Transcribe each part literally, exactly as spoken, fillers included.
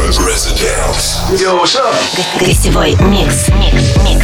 Residence. Yo, what's up? Гостевой микс. Микс, микс,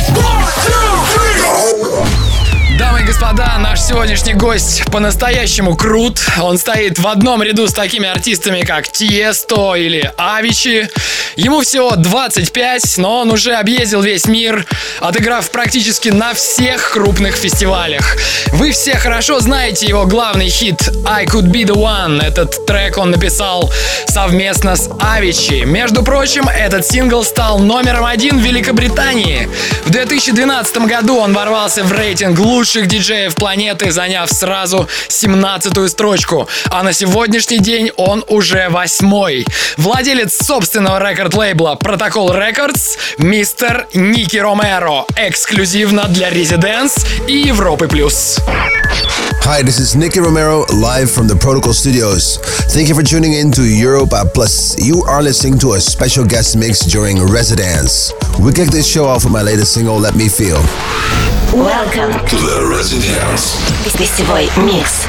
Дамы и господа, наш сегодняшний гость по-настоящему крут. Он стоит в одном ряду с такими артистами, как Тиесто или Авичи. Ему всего двадцать пять, но он уже объездил весь мир, отыграв практически на всех крупных фестивалях. Вы все хорошо знаете его главный хит «I Could Be The One». Этот трек он написал совместно с Авичи. Между прочим, этот сингл стал номером один в Великобритании. В две тысячи двенадцатом году он ворвался в рейтинг лучших диджеев планеты, заняв сразу семнадцатую строчку. А на сегодняшний день он уже восьмой. Владелец собственного рекорд-лейбла Protocol Records, мистер Ники Ромеро. Эксклюзивно для Residence и Европы плюс. Hi, this is Nicky Romero, live from the Protocol Studios. Thank you for tuning in to Europa Plus. You are listening to a special guest mix during Residence. We kick this show off with my latest single, Let Me Feel. Welcome To the Residence. Гостевой микс.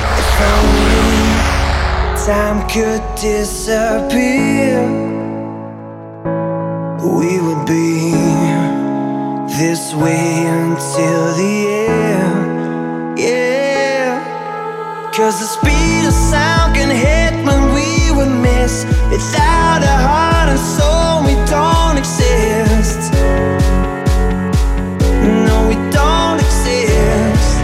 Time could disappear. We would be this way until the end. Yeah. Cause the speed of sound can hit when we would miss. Without a heart and soul we don't exist. No, we don't exist.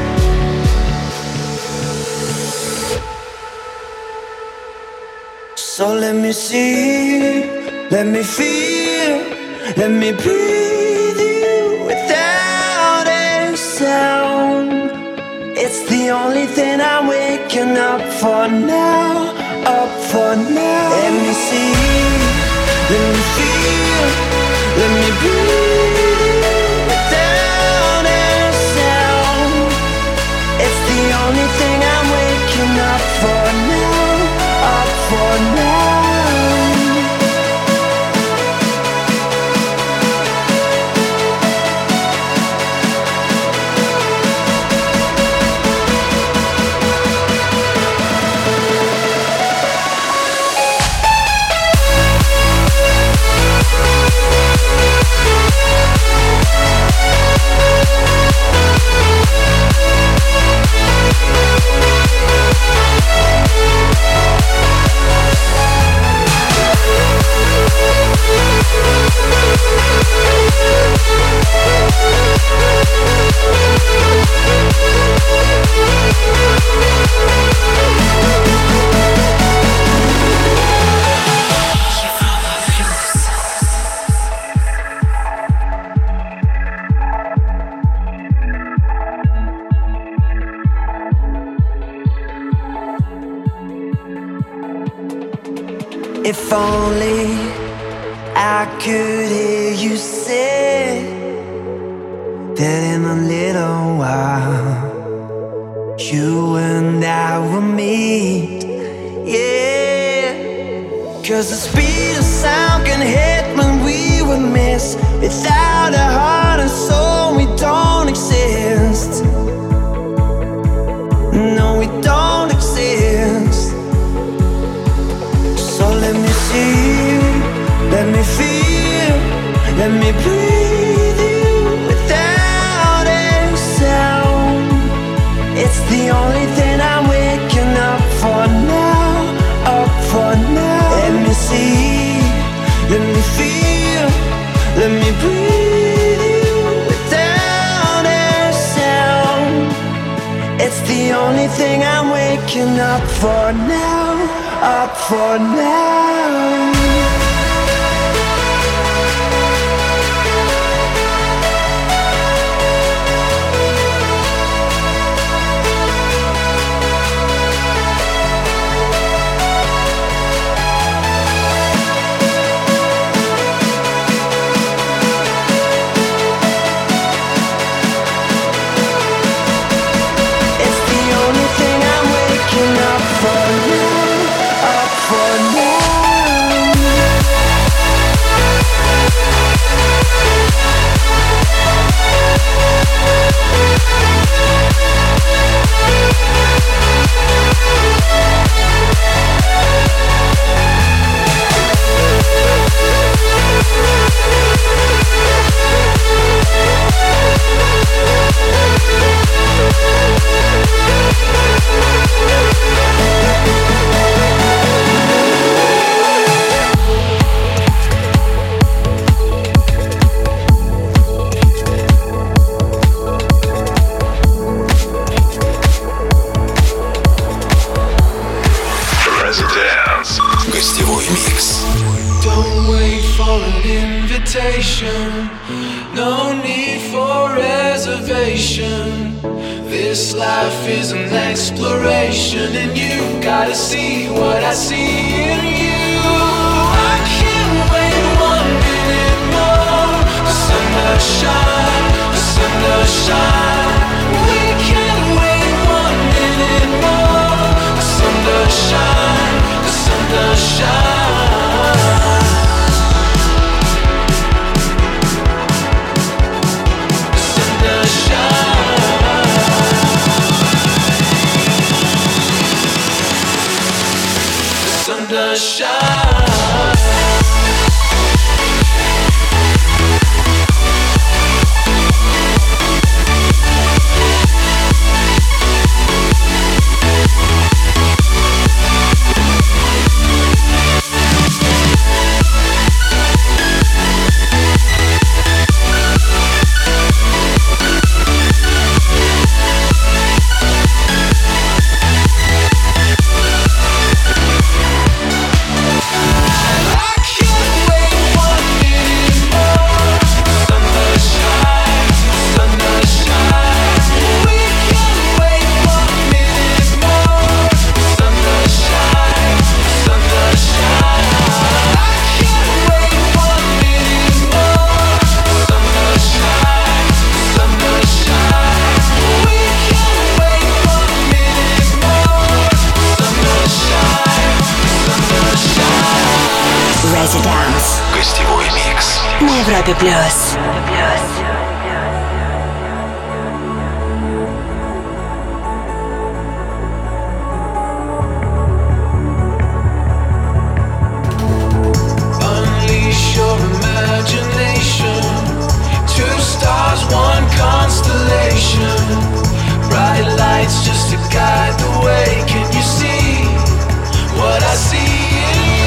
So let me see, let me feel, let me breathe you without a sound. It's the only thing I'm waking up for now, up for now. Let me see, let me feel, let me breathe without a sound. It's the only thing I'm waking up for now, up for now. If only I could hear you say that in a little while you and I will meet. Yeah. Cause the speed of sound can hit when we would miss. Without a heart and soul we don't exist. No, we don't exist. So let me see, let me feel, let me breathe you without a sound. It's the only thing I'm waking up for now, up for now. Let me see, let me feel, let me breathe you without a sound. It's the only thing I'm waking up for now, up for now. It's the only thing I'm waking up for now, up for now. Don't wait for an invitation. No need for reservation. This life is an exploration, and you gotta see what I see in you. I can't wait one minute more. The sun does shine, the sun does shine. We can't wait one minute more. The sun does shine, the sun does shine. The sun does shine. The sun does shine. Гостевой микс на Европе плюс. Unleash your imagination. Two stars, one constellation. Bright lights just to guide the way. Can you see what I see in you?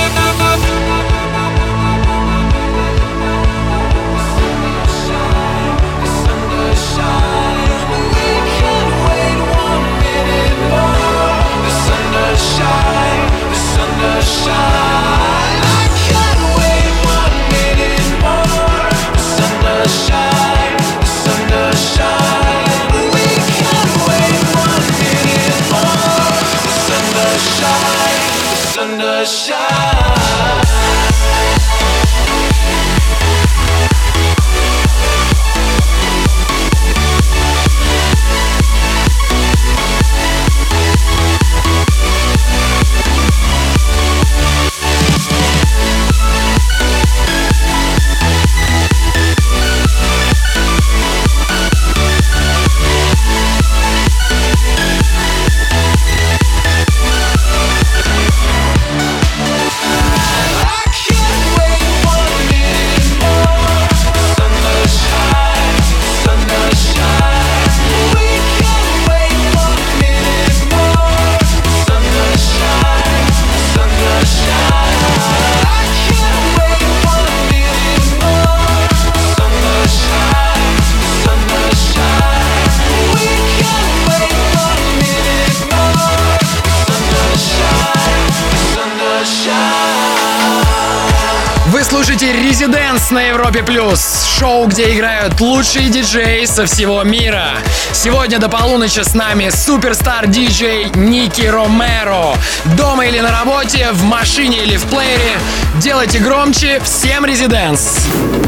Слушайте Residence на Европе Плюс. Шоу, где играют лучшие диджеи со всего мира. Сегодня до полуночи с нами суперстар-диджей Ники Ромеро. Дома или на работе, в машине или в плеере. Делайте громче. Всем Residence.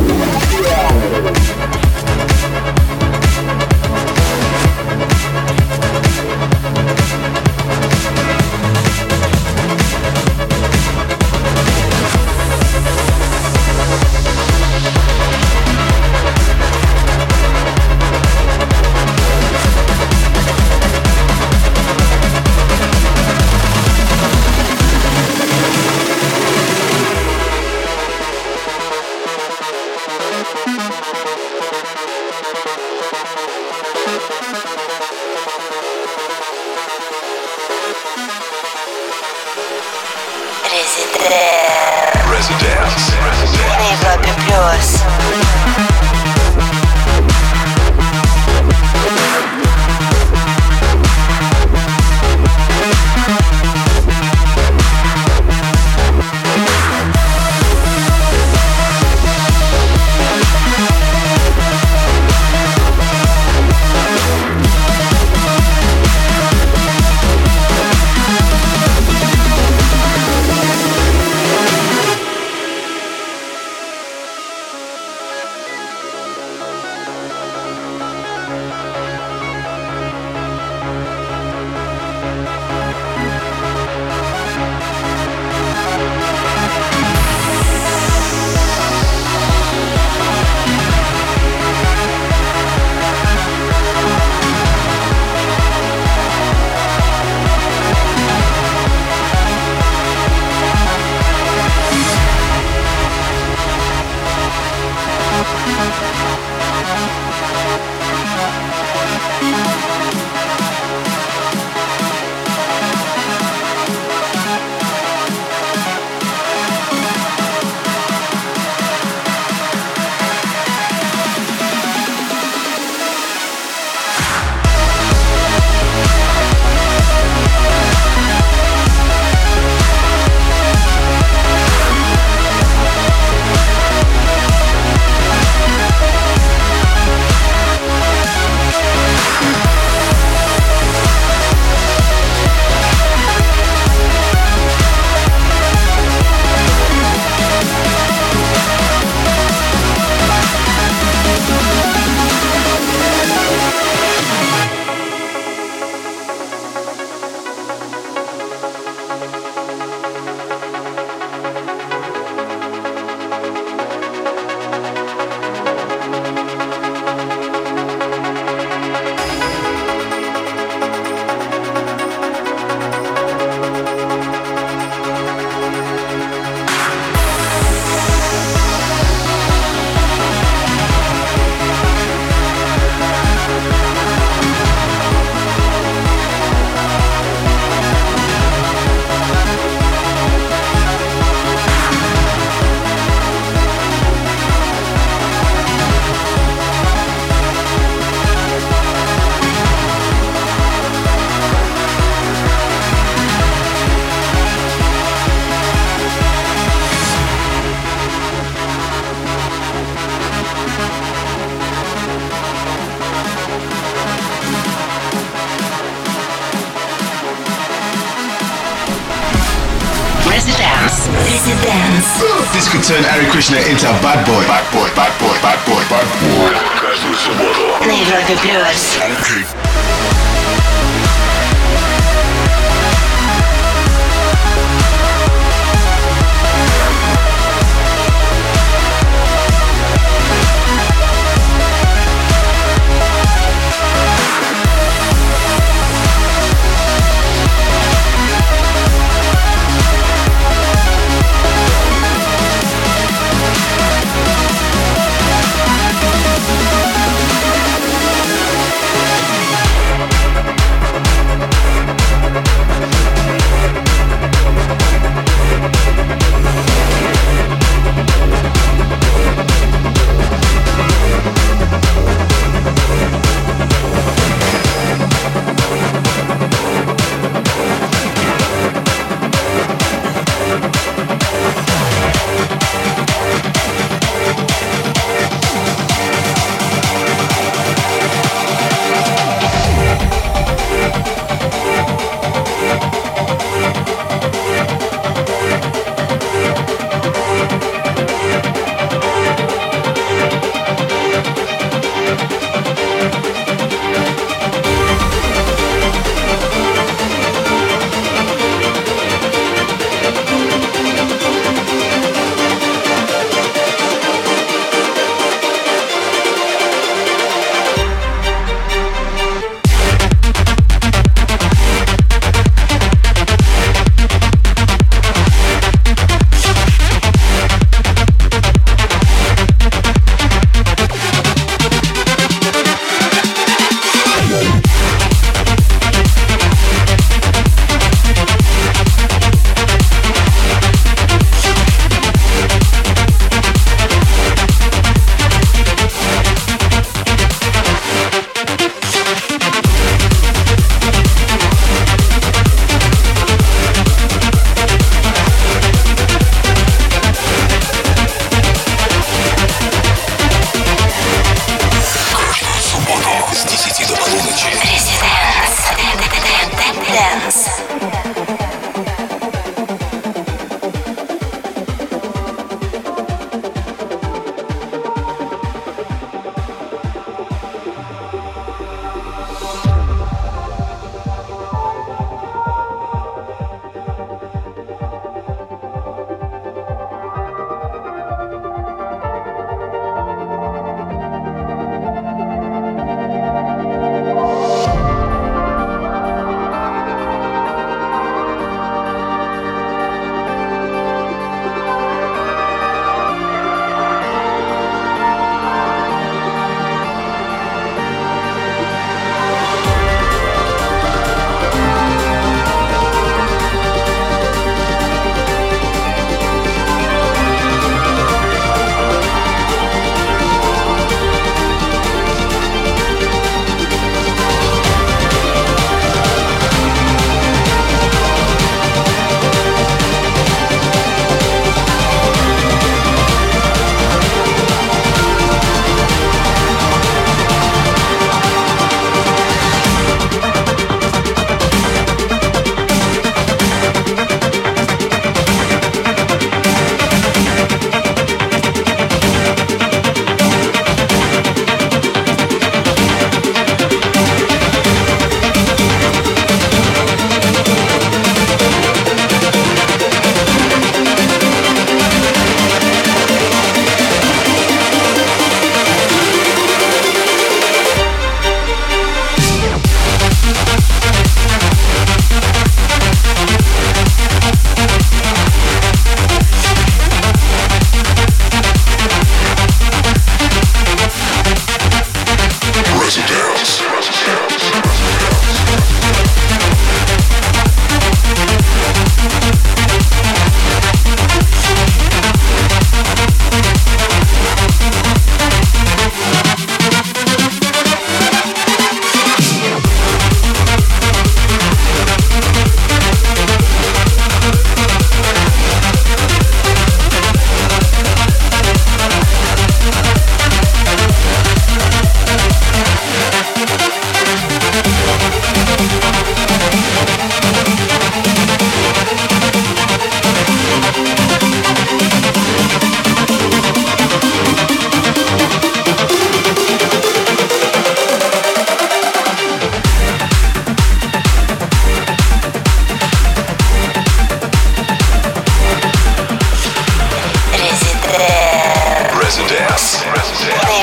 Residence на Европе плюс. Residence. This could turn Ari Krishna into a bad boy. Bad boy, bad boy, bad boy, bad boy. Каждую субботу. На Европе плюс.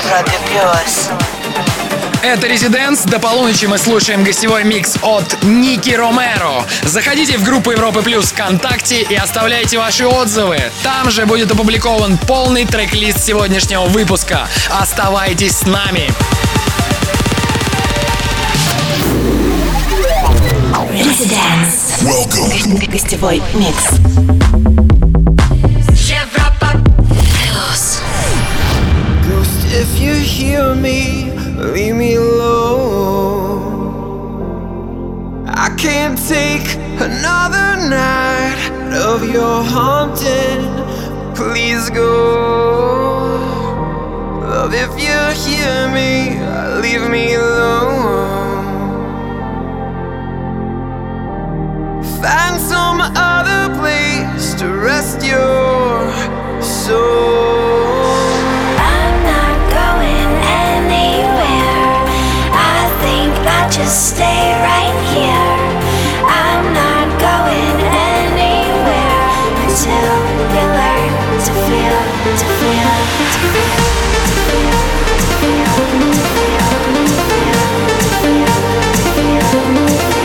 Европе плюс. Это Residents. До полуночи мы слушаем гостевой микс от Ники Ромеро. Заходите в группу Европы Плюс ВКонтакте и оставляйте ваши отзывы. Там же будет опубликован полный трек-лист сегодняшнего выпуска. Оставайтесь с нами. Residents. Welcome. Гостевой микс. Европа плюс. Ghost, if you hear me, leave me alone. I can't take another night of your haunting. Please go. Love, if you hear me, leave me alone. Find some other place to rest your soul. I'm not going anywhere. I think I'll just stay right here. I'm not going anywhere until you learn to feel, to feel, to feel, to feel, to feel, to feel, to feel, to feel, to feel.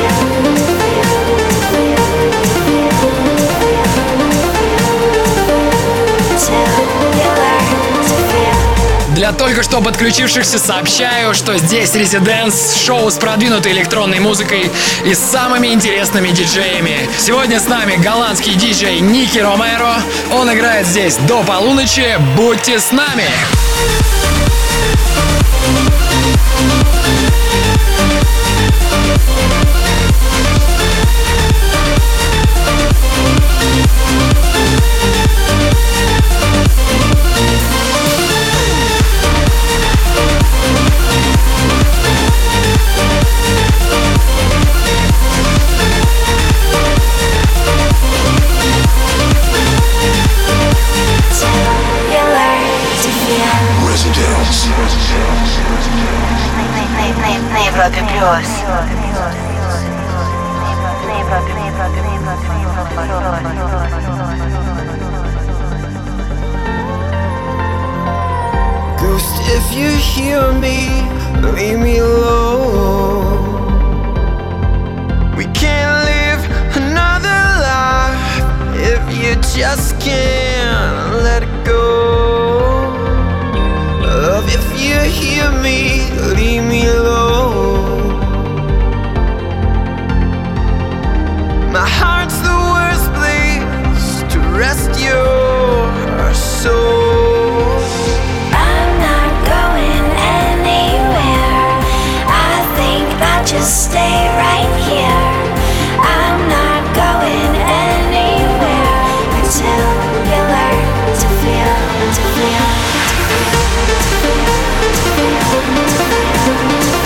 Для только что подключившихся сообщаю, что здесь Residents, шоу с продвинутой электронной музыкой и с самыми интересными диджеями. Сегодня с нами голландский диджей Ники Ромеро. Он играет здесь до полуночи. Будьте с нами! На Европе плюс. Ghost, if you hear me, leave me alone. We can't live another life if you just can't let it go. Love, if you hear me, leave me alone. My heart's the worst place to rest your soul. I'm not going anywhere. I think I'll just stay right here. I'm not going anywhere until you learn to feel, to feel, to feel, to feel, to feel, to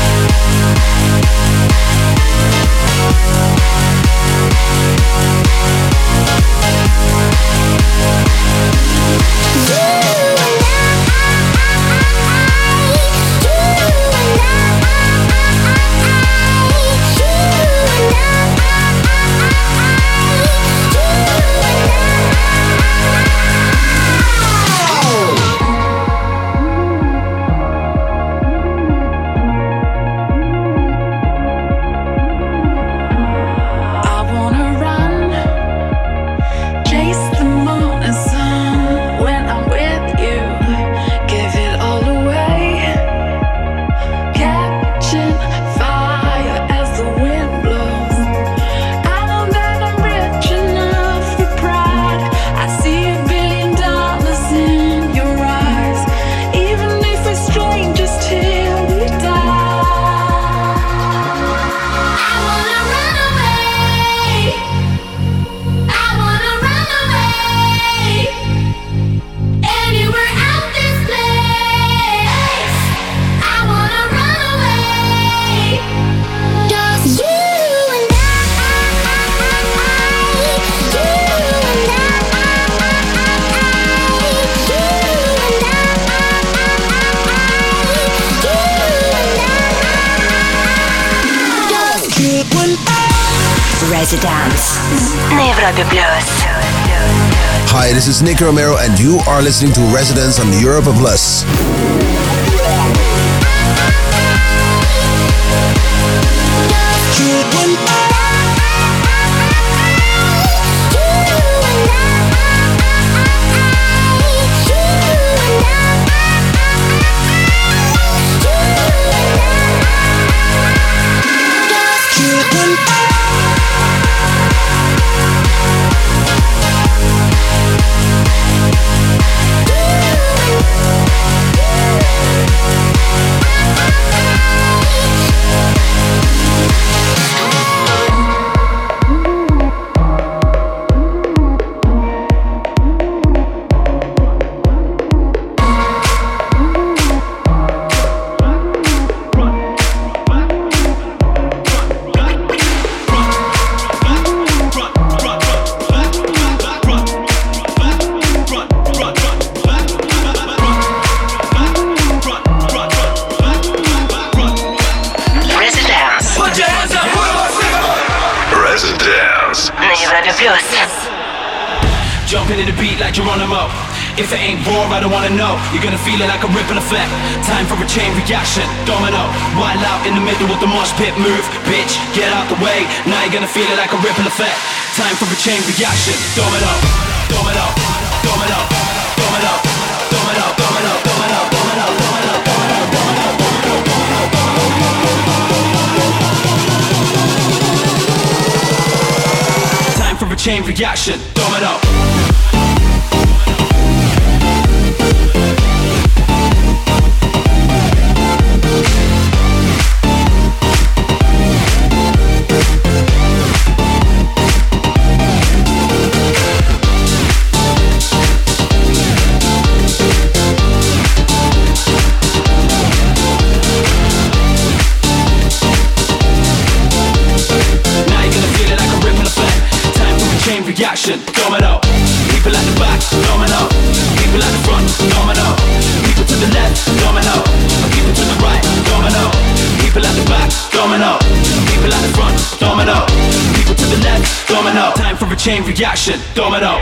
Residence на Европе Плюс. Hi, this is Nicky Romero and you are listening to Residence on Europa Plus. Jumping in the beat like Geronimo. If it ain't raw, I don't wanna know. You're gonna feel it like a ripple effect. Time for a chain reaction. Domino. Wild out in the middle of the mosh pit. Move, bitch, get out the way. Now you're gonna feel it like a ripple effect. Time for a chain reaction. Domino. Domino. Domino. Domino. Domino. Domino. Domino. Domino. Domino. Domino. Domino. Time for a chain reaction. Domino. Reaction, domino. People at the back, domino. People at the front, domino. People to the left, domino. People to the right, domino. People at the back, domino. People at the front, domino. People to the left, domino. Time for a chain reaction, domino.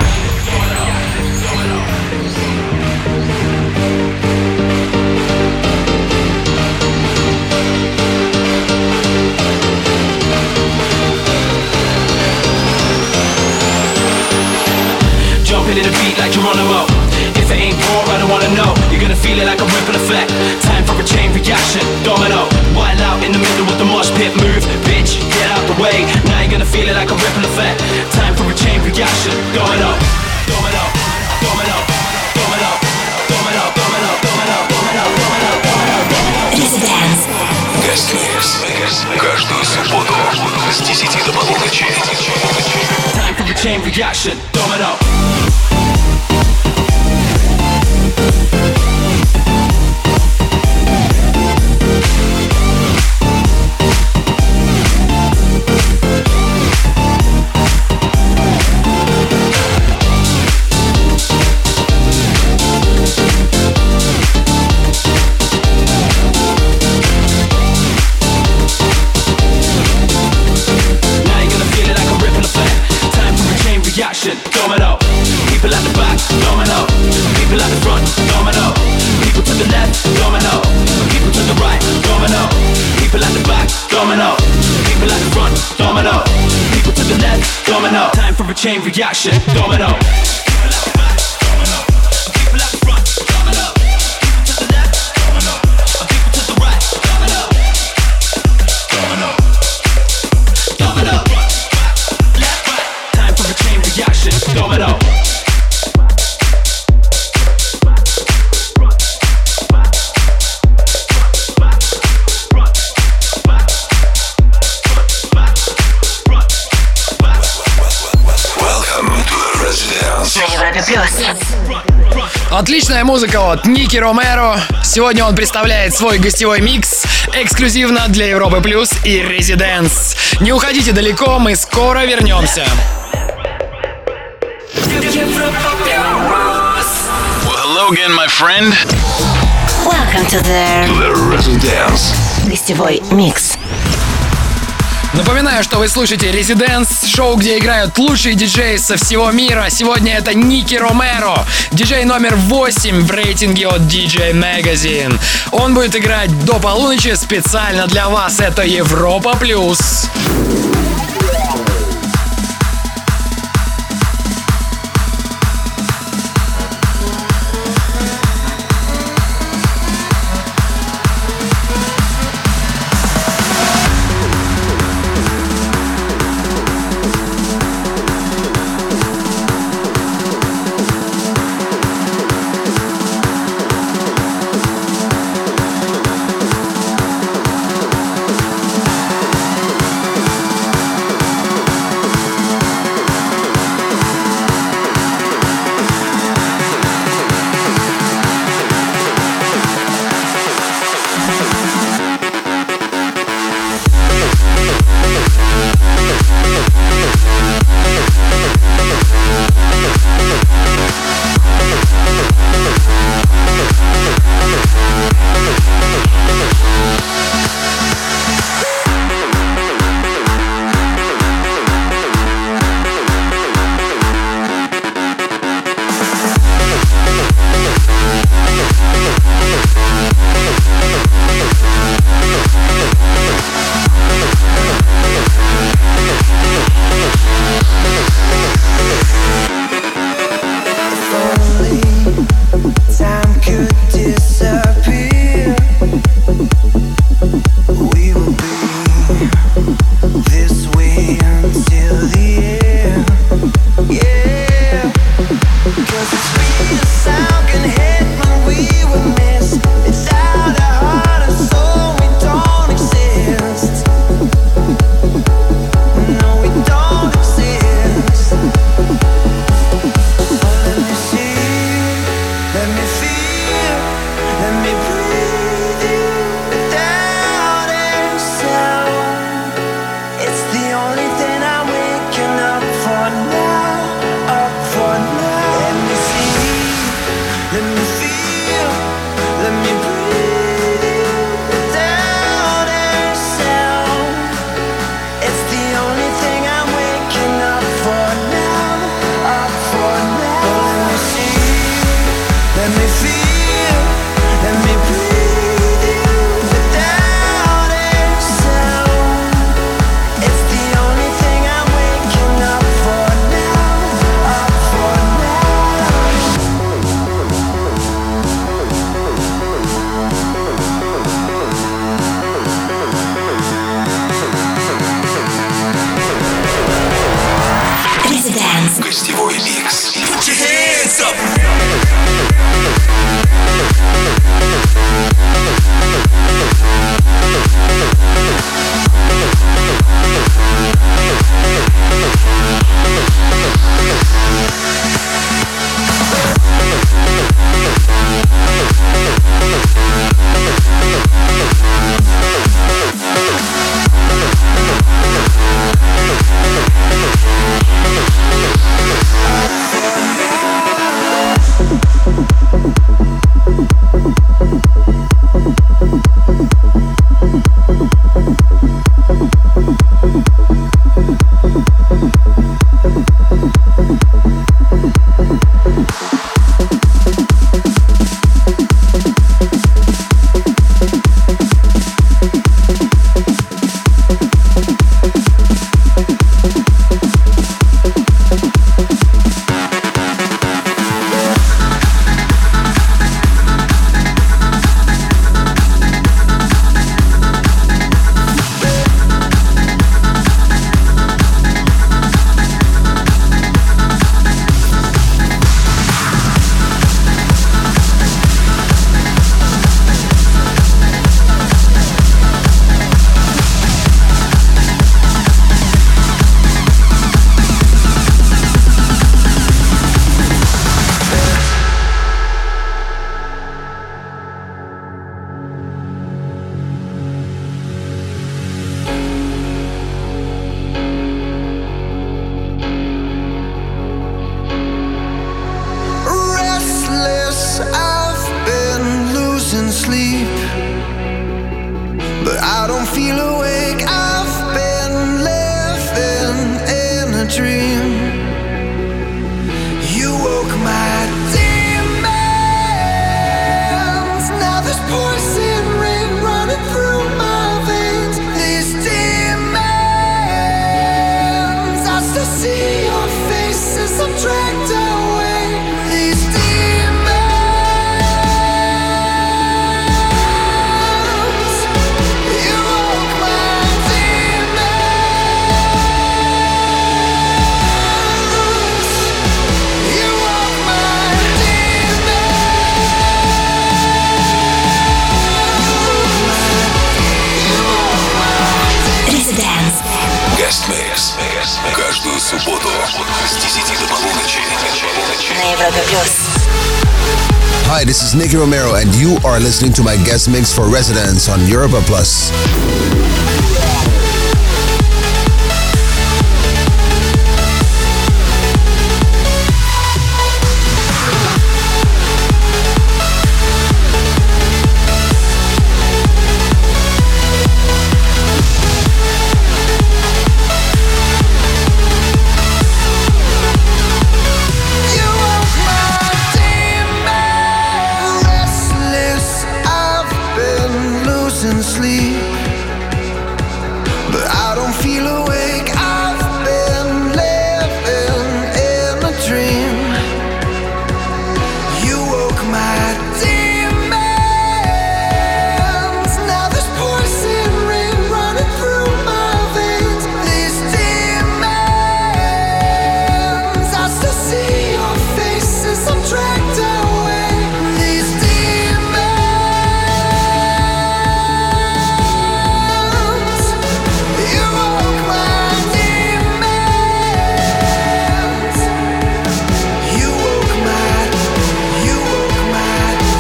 Jumping in the beat like Geronimo. If it ain't raw, I don't wanna know. You're gonna feel it like a ripple effect. Time for a chain reaction. Domino. Wild out in the middle of the mosh pit. Move, bitch, get out the way. Now you're gonna feel it like a ripple effect. Time for a chain reaction. Domino. Domino. Domino. Domino. Domino. Domino. Domino. Domino. Domino. Residence. Гостмикс. Каждую субботу с десяти до полуночи. Time for a chain reaction. Domino. reaction, domino. People at the back, domino. People at the front, domino. People to the left, domino. People to the right, domino. People at the back, domino. People at the front, domino. People to the left, domino. Time for a chain reaction, domino. Domino. Welcome to the Residence. На Европе Плюс. Отличная музыка от Ники Ромеро. Сегодня он представляет свой гостевой микс эксклюзивно для Европы Плюс и Residence. Не уходите далеко, мы скоро вернемся. Well, hello again, my friend. Welcome to the To the Residence. гостевой микс. Напоминаю, что вы слушаете Residence, шоу, где играют лучшие диджеи со всего мира. Сегодня это Ники Ромеро, диджей номер восемь в рейтинге от ди джей Magazine. Он будет играть до полуночи специально для вас. Это Европа Плюс. Гостевой микс. Put your hands up. feel awake, I've been living in a dream. You woke my demons. Now there's poison rain running through my veins. These demons, I still see your faces. I'm dragged away. These demons, you woke my demons. You woke my Residence. Guest Mix. Каждую субботу с десяти до полуночи. На Европе плюс. Hi, this is Nicky Romero, and you are listening to my guest mix for Residence on Europa Plus. You woke my demon. Restless, I've been losing sleep, but I don't feel awake. I've been living in a dream. You woke my demons. Now there's poison rain running through my veins. These demons, I still see your faces. I'm dragged away. These demons, you woke my demons. You woke my, you woke my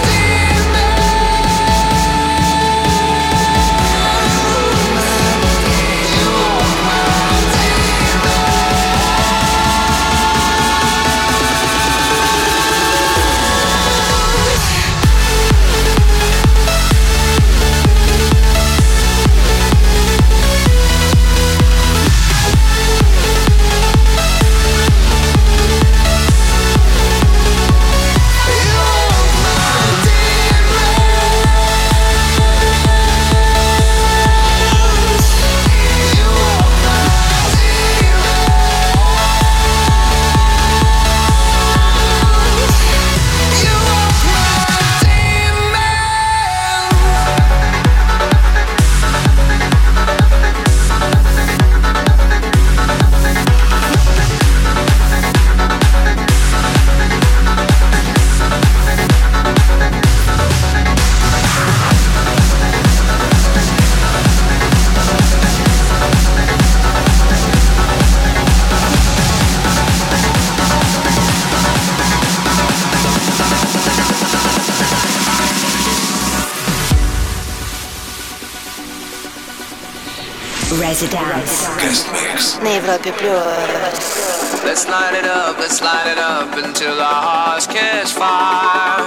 Residence. Guest Mix. На Европе плюс. Let's light it up, let's light it up until our hearts catch fire.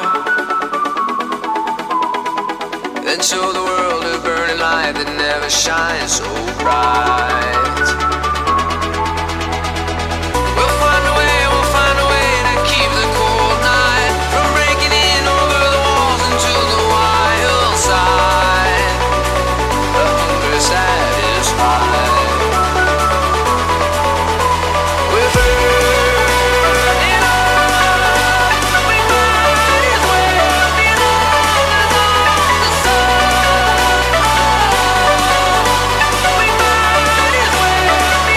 Then show the world a burning light that never shines so bright. We'll find a way, we'll find a way to keep the cold night from breaking in over the walls into the wild side. The hunger satisfied. We're burning up, we might as well be long as all the sun. We might as well be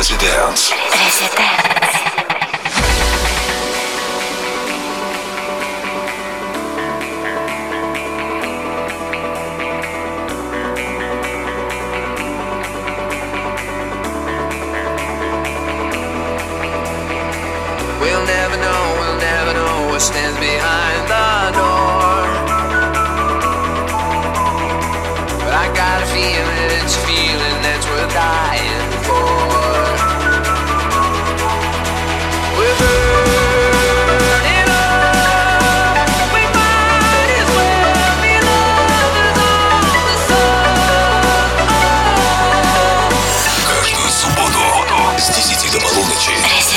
Residence. We'll never know, we'll never know what stands behind the door. But I got a feeling, it's a feeling that's worth dying for. We're burning up, we might as well be lovers on the sun. Каждую субботу с десяти до полуночи.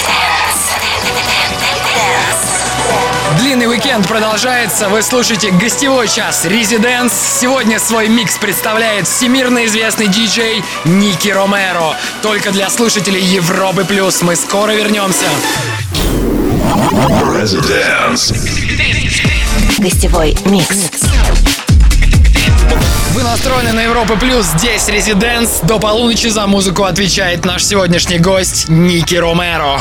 Длинный уикенд продолжается. Вы слушаете гостевой час Residence. Сегодня свой микс представляет всемирно известный диджей Ники Ромеро. Только для слушателей Европы плюс. Мы скоро вернемся. Residence. Гостевой микс. Вы настроены на Европу плюс. Здесь Residence. До полуночи за музыку отвечает наш сегодняшний гость Ники Ромеро.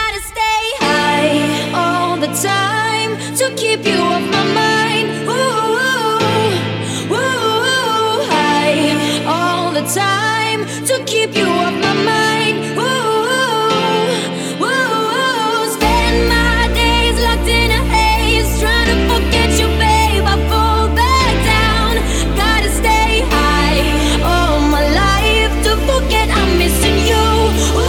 The time to keep you off my mind. Ooh, ooh, high all the time to keep you off my mind. Ooh, ooh, spend my days locked in a haze, trying to forget you, babe. I fall back down. Gotta stay high all my life to forget I'm missing you. Ooh,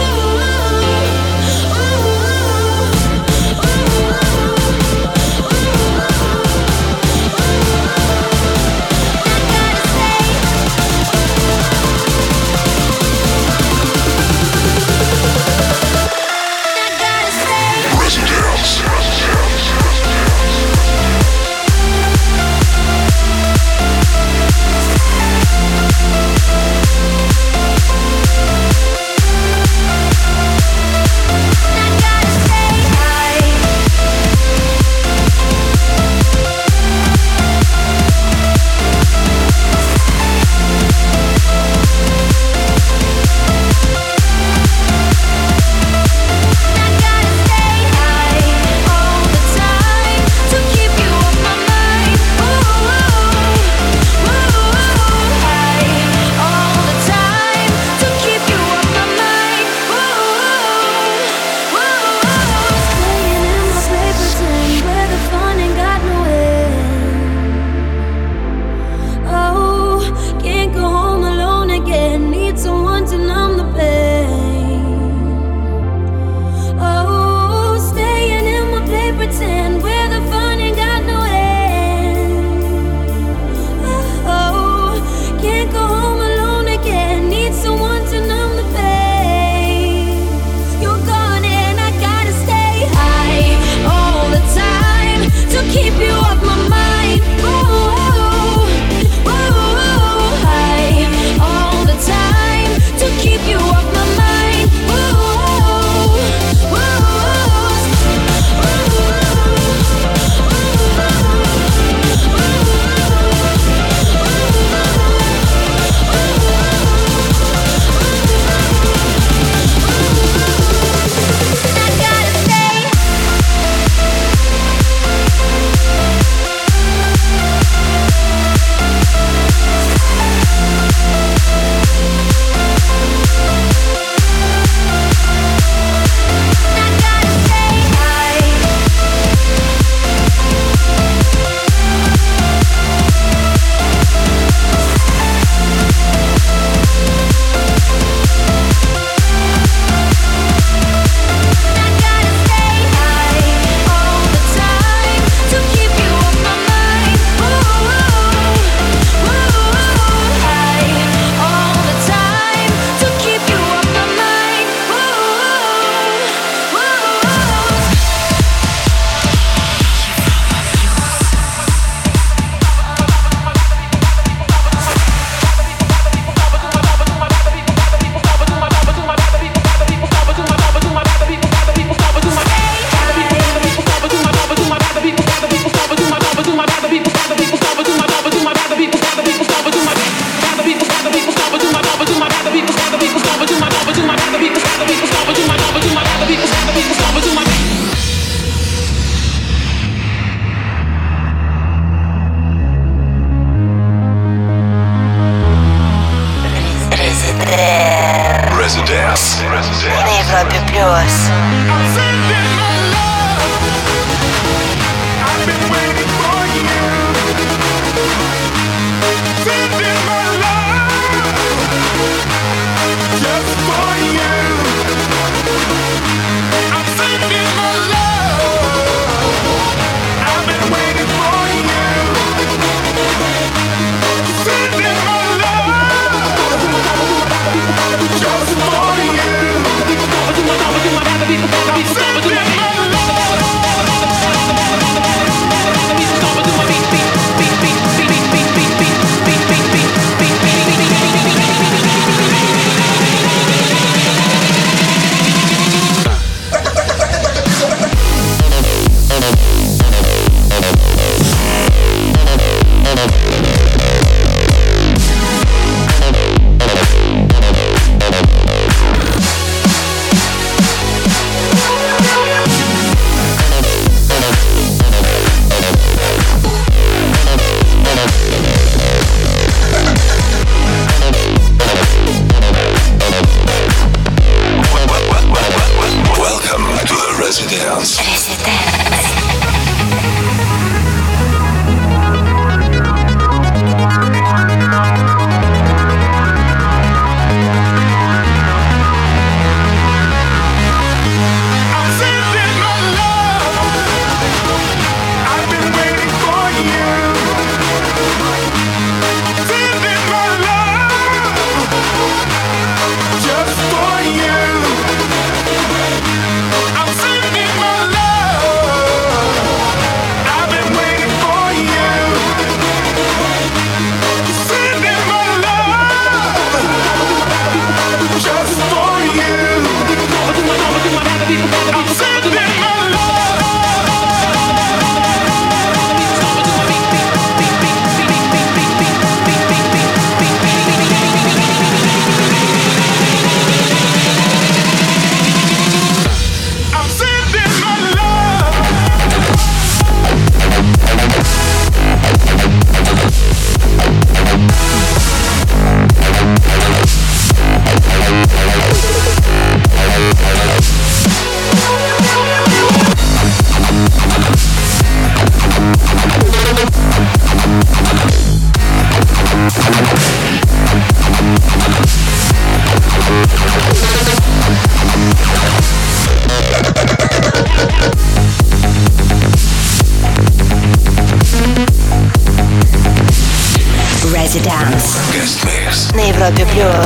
Mix на Европе плюс. На Европе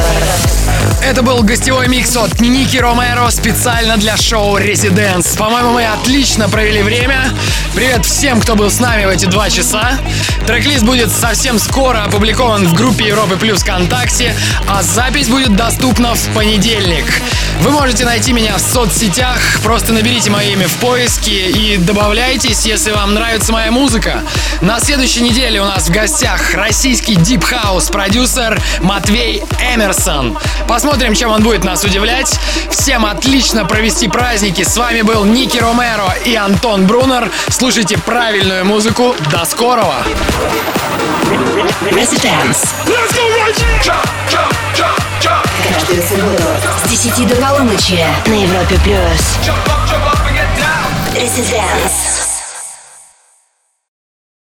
плюс. Это был гостевой микс от Ники Ромеро специально для шоу Residence. По-моему, мы отлично провели время. Привет всем, кто был с нами в эти два часа. Трек-лист будет совсем скоро опубликован в группе Европы Плюс ВКонтакте, а запись будет доступна в понедельник. Вы можете найти меня в соцсетях, просто наберите мое имя в поиске и добавляйтесь, если вам нравится моя музыка. На следующей неделе у нас в гостях российский дип-хаус-продюсер Матвей Эмерсон. Посмотрим, чем он будет нас удивлять. Всем отлично провести праздники. С вами был Ники Ромеро и Антон Брунер. Слушайте правильную музыку. До скорого! Residence. Каждую субботу с десяти до полуночи на Европе плюс. Residence.